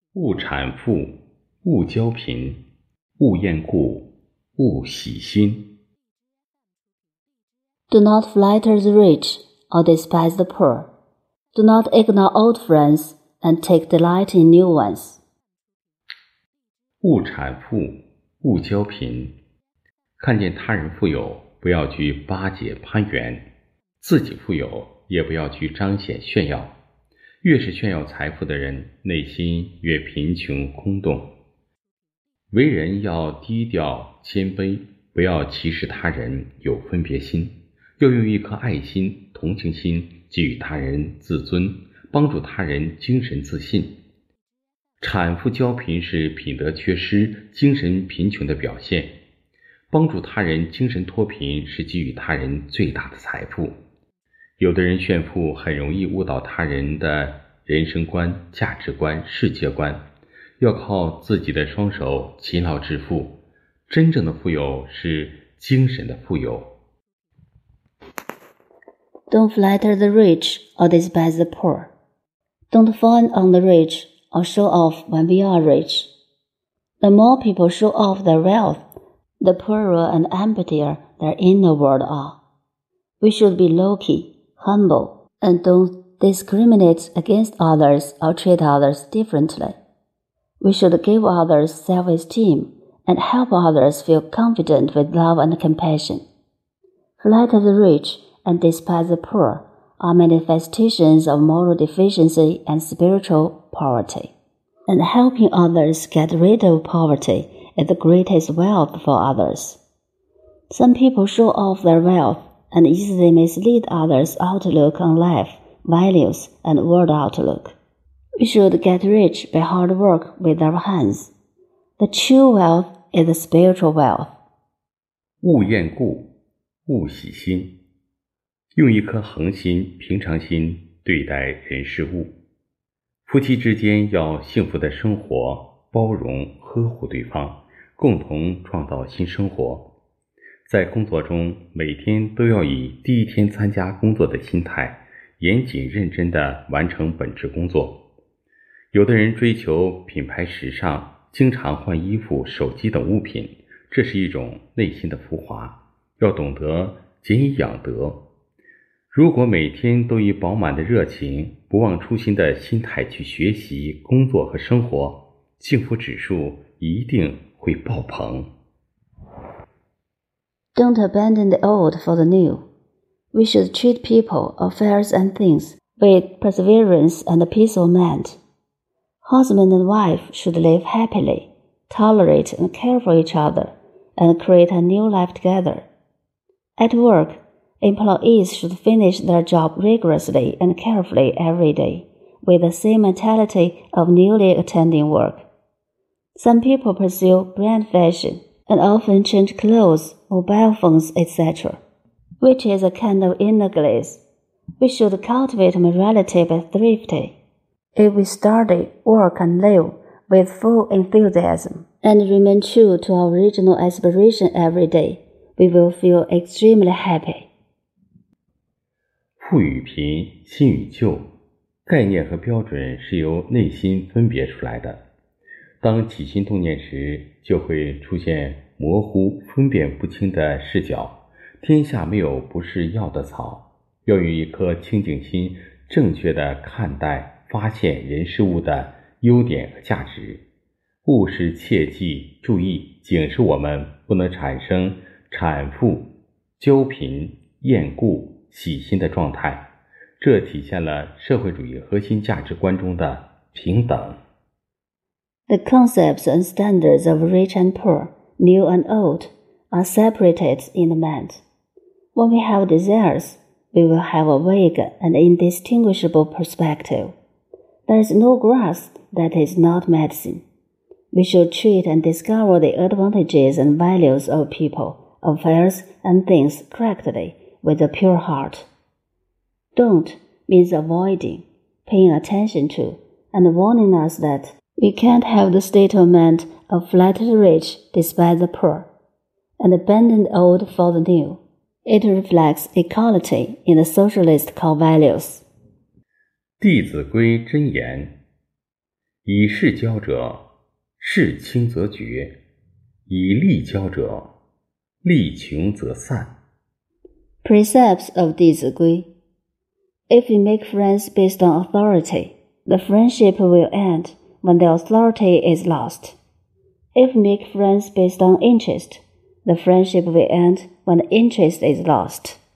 勿产妇，勿骄贫，勿厌故，勿喜新。 Do not flatter the rich or despise the poor. Do not ignore old friends and take delight in new ones. 勿产妇，勿骄贫。看见他人富有，不要去巴结攀援；自己富有，也不要去彰显炫耀。越是炫耀财富的人，内心越贫穷空洞。为人要低调谦卑，不要歧视他人，有分别心，要用一颗爱心、同情心给予他人自尊，帮助他人精神自信。产妇骄贫是品德缺失、精神贫穷的表现，帮助他人精神脱贫是给予他人最大的财富。有的人炫富很容易误导他人的人生观、价值观、世界观，要靠自己的双手勤劳致富。真正的富有是精神的富有。 Don't flatter the rich or despise the poor. Don't fawn on the rich or show off when we are rich. The more people show off their wealth, the poorer and emptier their inner world are. We should be low-key, humble, and don't discriminate against others or treat others differently. We should give others self-esteem and help others feel confident with love and compassion. Flatter the rich and despise the poor are manifestations of moral deficiency and spiritual poverty. And helping others get rid of poverty is the greatest wealth for others. Some people show off their wealth and easily mislead others' outlook on life, values, and world outlook. We should get rich by hard work with our hands. The true wealth is the spiritual wealth. 勿厌故，勿喜新。用一颗恒心、平常心对待人事物。夫妻之间要幸福的生活，包容、呵护对方，共同创造新生活。在工作中，每天都要以第一天参加工作的心态，严谨认真地完成本职工作。有的人追求品牌时尚，经常换衣服、手机等物品，这是一种内心的浮华，要懂得俭以养德。如果每天都以饱满的热情、不忘初心的心态去学习、工作和生活，幸福指数一定会爆棚。 Don't abandon the old for the new. We should treat people, affairs, and things with perseverance and peace of mind. Husband and wife should live happily, tolerate and care for each other, and create a new life together. At work, employees should finish their job rigorously and carefully every day, with the same mentality of newly attending work. Some people pursue brand fashion and often change clothes, mobile phones, etc., which is a kind of inner glaze. We should cultivate morality by thrifty. If we study, work, and live with full enthusiasm and remain true to our original aspiration every day, we will feel extremely happy. 富与贫，新与旧，概念和标准是由内心分别出来的。当起心动念时，就会出现模糊、分辨不清的视角。天下没有不是药的草，要用一颗清净心，正确地看待、发现人事物的优点和价值。务实切记注意，警示我们不能产生产妇、骄贫、厌故、喜新的状态，这体现了社会主义核心价值观中的平等。 The concepts and standards of rich and poor, new and old, are separated in the mind. When we have desires, we will have a vague and indistinguishable perspective. There is no grass that is not medicine. We should treat and discover the advantages and values of people, affairs, and things correctly with a pure heart. Don't means avoiding, paying attention to, and warning us that we can't have the statement of flatter the rich, despise the poor, and abandon the old for the new. It reflects equality in the socialist core values. 弟子规真言： 以势交者，势轻则绝；以利交者，力穷则散。 Precepts of 弟子规 If you make friends based on authority, the friendship will end when the authority is lost. If you make friends based on interest, the friendship will end when the interest is lost.